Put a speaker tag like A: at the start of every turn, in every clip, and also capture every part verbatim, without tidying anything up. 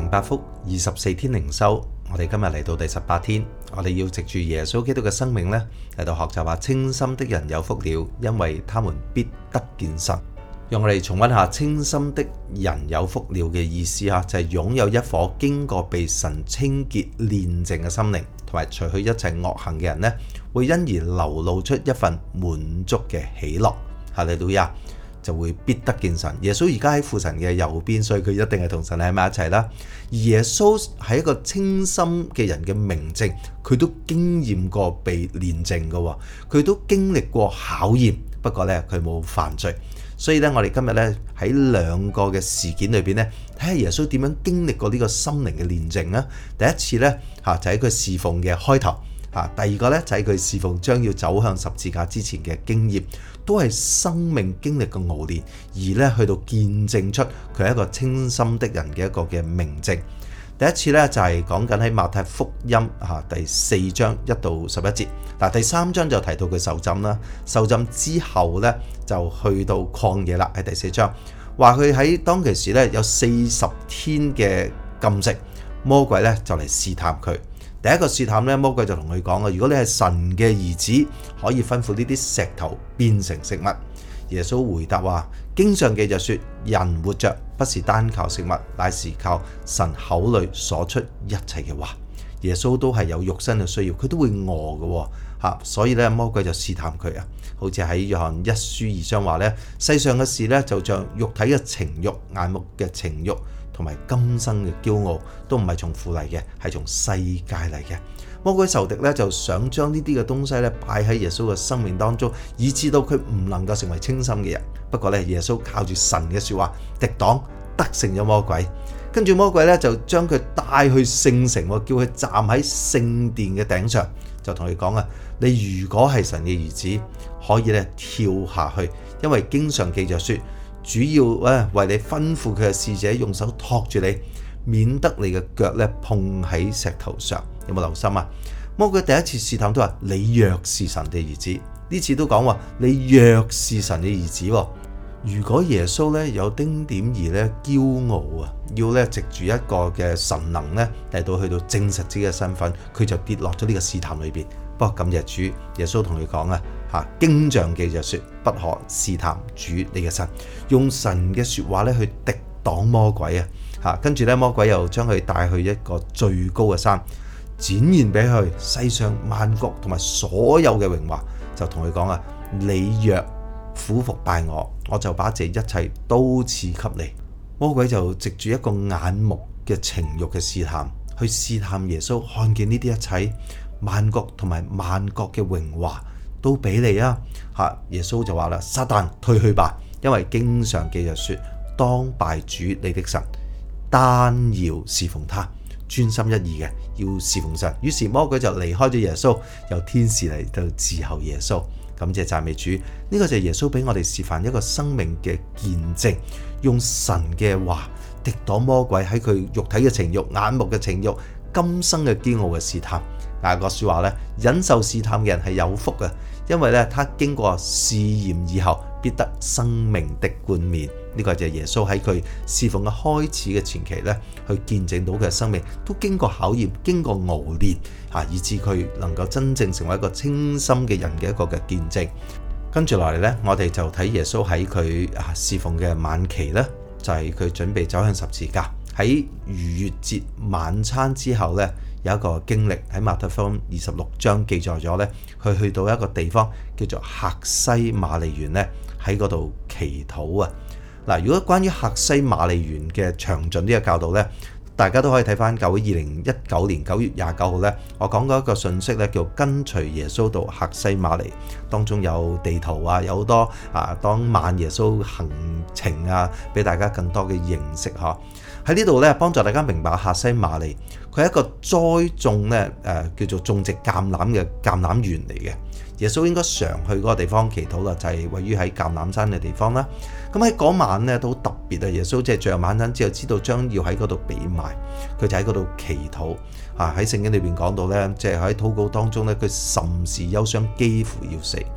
A: 承八福二十四天靈修，我哋今日嚟到第十八天，我哋要藉住耶穌基督嘅生命呢嚟到學習下清心的人有福了，因為他們必得見神。讓我哋重溫下清心的人有福了嘅意思啊，就係擁有一顆經過被神清潔煉淨嘅心靈，同埋除去一切惡行嘅人呢，會因而流露出一份滿足嘅喜樂。哈利路亞，就會必得見神。耶穌而家喺父神嘅右邊，所以佢一定係同神喺埋一齊啦。而耶穌係一個清心嘅人嘅明證，佢都經驗過被煉淨嘅，佢都經歷過考驗，不過呢，佢冇犯罪。所以咧，我哋今日咧喺兩個嘅事件裏邊咧，睇下耶穌點樣經歷過呢個心靈嘅煉淨啊。第一次咧嚇就喺佢侍奉嘅開頭嚇，第二個咧就喺佢侍奉將要走向十字架之前嘅經驗，都係生命經歷嘅熬煉，而咧去到見證出佢係一個清心的人嘅一個嘅明證。第一次咧就係講緊喺馬太福音嚇第四章一到十一節，嗱第三章就提到佢受浸啦，受浸之後咧就去到曠野啦，喺第四章話佢喺當其時咧有四十天嘅禁食，魔鬼咧就嚟試探佢。第一個試探咧，魔鬼就同佢講啊，如果你係神嘅兒子，可以吩咐呢啲石頭變成食物。耶穌回答話：經上記着說，人活着不是單靠食物，乃是靠神口裏所出一切嘅話。耶穌都係有肉身嘅需要，佢都會餓嘅吓，所以咧魔鬼就試探佢啊。好似喺約翰一書二章話咧，世上嘅事咧就像肉體嘅情慾、眼目嘅情慾同埋今生嘅驕傲，都唔係從父嚟嘅，係從世界嚟嘅。魔鬼仇敵咧就想將呢啲嘅東西咧擺喺耶穌嘅生命當中，以致到佢唔能夠成為清心嘅人。不過咧，耶穌靠住神嘅說話敵擋得勝咗魔鬼，跟住魔鬼咧就將佢帶去聖城，叫佢站喺聖殿嘅頂上，就同佢講啊：你如果係神嘅兒子，可以咧跳下去，因為經上記着說，主要咧為你吩咐佢嘅使者用手托住你，免得你嘅腳咧碰喺石頭上。有冇留心啊？魔鬼第一次試探都話你若是神嘅兒子，呢次都講話你若是神嘅兒子。如果耶穌咧有丁點兒咧驕傲啊，要咧藉住一個嘅神能咧嚟到去到證實自己嘅身份，佢就跌落咗呢個試探裏邊。不過感謝主，耶穌同佢講啊，吓經上記着說，不可試探主你嘅神，用神嘅說話咧去敵擋魔鬼啊。吓跟住咧魔鬼又將佢帶去一個最高嘅山，展現俾佢世上萬國同埋所有嘅榮華，就同佢講啊，你若俯伏拜我，我就把這一切都賜給你。魔鬼就藉住一個眼目嘅情慾嘅試探，去試探耶穌，看見呢啲一切萬國同埋萬國嘅榮華都俾你啊！吓，耶穌就話啦：撒旦退去吧，因為經上記着說，當拜主你的神，單要侍奉他，專心一意嘅要侍奉神。於是魔鬼就離開咗耶穌，由天使嚟到伺候耶穌。感謝讚美主，呢、這個就係耶穌俾我哋示範一個生命嘅見證，用神嘅話敵擋魔鬼喺佢肉體嘅情慾、眼目嘅情慾、今生嘅驕傲嘅試探。雅各書話咧，忍受試探嘅人係有福嘅，因為咧他經過試驗以後，必得生命的冠冕。呢、這個就係耶穌喺佢侍奉嘅開始嘅前期咧，去見證到佢嘅生命都經過考驗、經過熬煉，吓以致佢能夠真正成為一個清心嘅人嘅一個嘅見證。跟住落嚟咧，我哋就睇耶穌喺佢啊侍奉嘅晚期咧，就係、是、佢準備走向十字架。喺逾越節晚餐之後咧，有一個經歷喺馬太福音二十六章記載咗咧，佢去到一個地方叫做客西馬尼園咧，喺嗰度祈禱啊。嗱，如果關於客西馬尼園嘅詳盡呢個教導咧，大家都可以睇翻教會二零一九年九月廿九號咧，我講過一個信息咧，叫跟隨耶穌到客西馬尼，當中有地圖啊，有好多啊當晚耶穌行程啊，俾大家更多嘅認識嗬。喺呢度咧，幫助大家明白客西馬尼，佢係一個栽種咧誒叫做種植橄欖嘅橄欖園嚟嘅。耶穌應該常去嗰個地方祈禱啦，就係、是、位於喺橄欖山嘅地方啦。咁喺嗰晚咧都特別啊！耶穌即係最後晚餐之後，知道將要喺嗰度被賣，佢就喺嗰度祈禱啊！喺聖經裏邊講到咧，即係喺禱告當中咧，佢甚是憂傷，幾乎要死。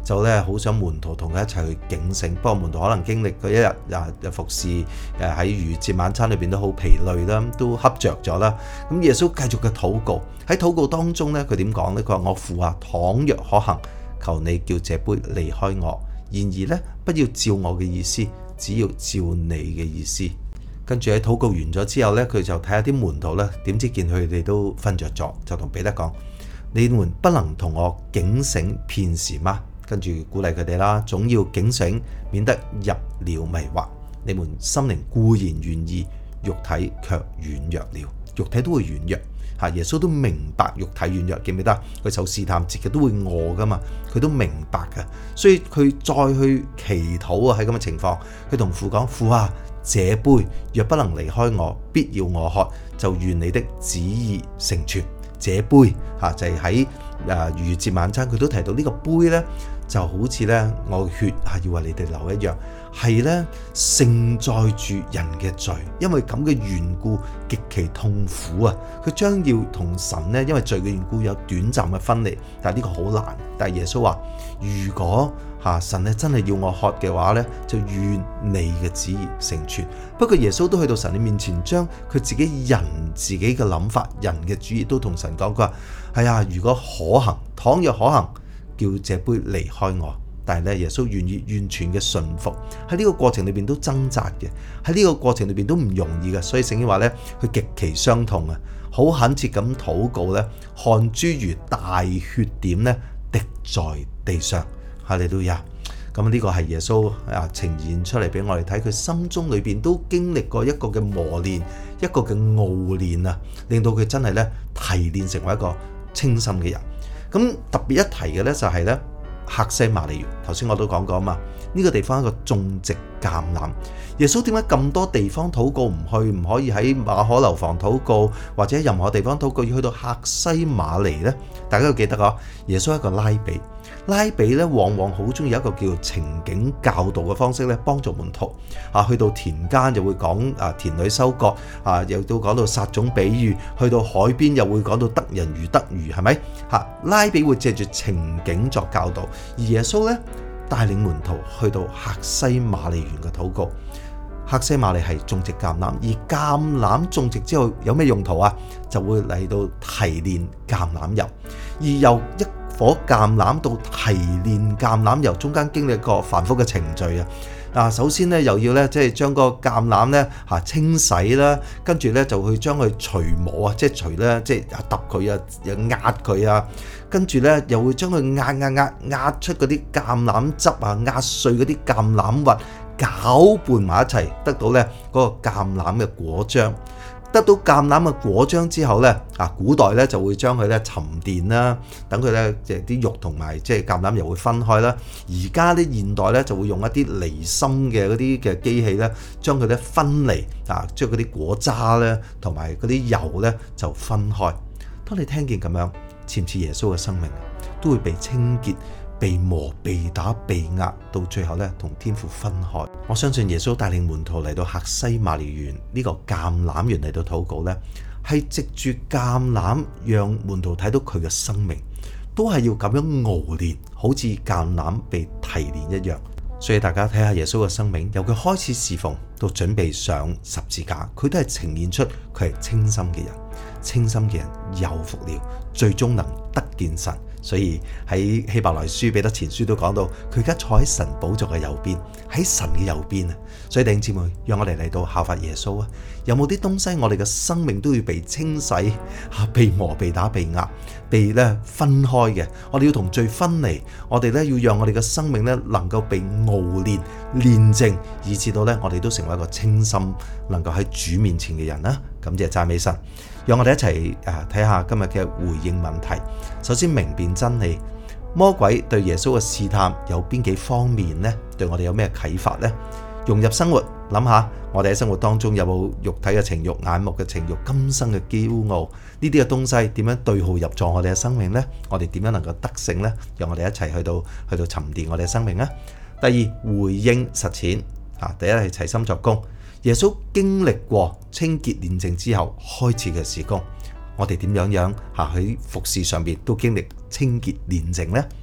A: 就咧好想門徒同佢一齊去警醒。不過門徒可能經歷佢一日啊服侍誒喺逾節晚餐裏邊都好疲累啦，都瞌着咗啦。咁耶穌繼續嘅禱告，喺禱告當中咧，佢點講咧？佢話：我父啊，倘若可行，求你叫這杯離開我。然而咧，不要照我嘅意思，只要照你嘅意思。跟住喺禱告完咗之後咧，佢就睇下啲門徒咧，點知見佢哋都瞓着咗，就同彼得講：你們不能同我警醒片時嗎？跟住鼓勵佢哋啦，總要警醒，免得入了迷惑。你們心靈固然願意，肉體卻軟弱了。肉體都會軟弱嚇，耶穌都明白肉體軟弱，記唔記得？佢受試探，自己都會餓噶嘛，佢都明白噶，所以佢再去祈禱啊！喺咁嘅情況，佢同父講：父啊，這杯若不能離開我，必要我喝，就願你的旨意成全。這杯嚇就係喺誒逾越節晚餐，佢都提到呢個杯呢，就好似呢我嘅血係要為你哋流一樣，係呢盛載住人嘅罪，因為咁嘅緣故極其痛苦啊！佢將要同神呢，因為罪嘅緣故有短暫嘅分離，但係呢個好難。但係耶穌話：如果嚇神咧真係要我喝嘅話呢，就願你嘅旨意成全。不過耶穌都去到神嘅面前，將佢自己人自己嘅諗法、人嘅主意都同神講。佢話：係啊，如果可行，倘若可行，叫這杯離開我。但係咧，耶穌願意完全嘅順服。喺呢個過程裏邊都掙扎嘅，喺呢個過程裏邊都唔容易嘅。所以聖經話咧，佢極其傷痛啊，好懇切咁禱告咧，汗珠如大血點咧滴在地上。哈利路亞！咁呢個係耶穌啊呈現出嚟俾我哋睇，佢心中裏邊都經歷過一個嘅磨練，一個嘅熬練啊，令到佢真係咧提煉成為一個清心嘅人。咁特別一提嘅咧就係咧客西馬尼園，頭先我都講過啊嘛，呢個地方係一個種植橄欖。耶穌點解咁多地方禱告唔去？唔可以喺馬可樓房禱告，或者任何地方禱告，要去到客西馬尼呢？大家都記得啊，耶穌係一個拉比。拉比咧，往往好中意一個叫情景教導嘅方式咧，幫助門徒啊。去到田間就會講啊田裏收割啊，又都講到撒種比喻。去到海邊又會講到得人如得魚，係咪？嚇，拉比會借住情景作教導，而耶穌咧帶領門徒去到客西馬尼園嘅禱告。客西馬尼係種植橄欖，而橄欖種植之後有咩用途啊？就會嚟到提煉橄欖油，而由一顆橄欖到提煉橄欖油中間經歷一個繁複嘅程序啊！嗱，首先咧又要咧即係將個橄欖咧嚇清洗啦，跟住咧就去將佢除磨啊，即係除咧即係揼佢啊，又壓佢啊，跟住咧又會將佢壓壓壓壓出嗰啲橄欖汁啊，壓碎嗰啲橄欖核，攪拌埋一齊，得到咧嗰個橄欖嘅果漿。得到橄欖嘅果漿之後咧，啊古代咧就會將佢咧沉澱啦，等佢咧即係啲肉同埋即係橄欖油會分開啦。而家啲現代咧就會用一啲離心嘅嗰啲嘅機器咧，將佢咧分離啊，將嗰啲果渣咧同埋嗰啲油咧就分開。當你聽見咁樣，似唔似耶穌嘅生命都會被清潔、被磨、被打、被壓，到最後咧同天父分開？我相信耶穌帶領門徒嚟到客西馬尼園呢個橄欖園嚟到禱告咧，係藉住橄欖讓門徒睇到佢嘅生命，都係要咁樣熬煉，好似橄欖被提煉一樣。所以大家睇下耶穌嘅生命，由佢開始侍奉到準備上十字架，佢都係呈現出佢係清心嘅人。清心嘅人有福了，最終能得見神。所以喺希伯來書彼得前書都講到，佢而家坐喺神寶座嘅右邊，喺神嘅右邊啊！所以弟兄姊妹，讓我哋嚟到效法耶穌啊！有冇啲東西我哋嘅生命都要被清洗、被磨、被打、被壓、被咧分開嘅？我哋要同罪分離，我哋咧要讓我哋嘅生命咧能夠被熬煉、煉淨，以至到咧我哋都成為一個清心、能夠喺主面前嘅人啦！感謝讚美神。讓我哋一齊誒睇下今日嘅回應問題。首先明辨真理，魔鬼對耶穌嘅試探有邊幾方面呢？對我哋有咩啟發呢？融入生活，諗下我哋喺生活當中有冇肉體嘅情慾、眼目嘅情慾、今生嘅驕傲呢啲嘅東西點樣對號入座我哋嘅生命呢？我哋點樣能夠得勝呢？讓我哋一齊去到去到沉澱我哋嘅生命啊！第二，回應實踐啊！第一係齊心作工。耶穌經歷過清潔煉淨之後開始嘅事工，我哋點樣樣喺服事上面都經歷清潔煉淨呢？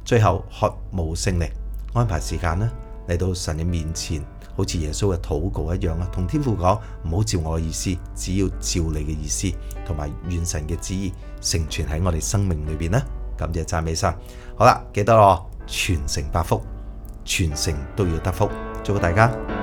A: 最後渴慕聖靈，安排時間呢嚟到神嘅面前，好似耶穌嘅禱告一樣啊，同天父講，唔好照我嘅意思，只要照你嘅意思，同埋願神嘅旨意成全喺我哋生命裏邊呢。感謝讚美神。好啦，記得咯，全城八福，全城都要得福，祝福大家。